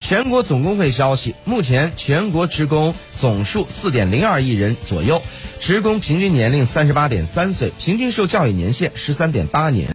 全国总工会消息，目前全国职工总数4.02亿人左右，职工平均年龄38.3岁，平均受教育年限13.8年。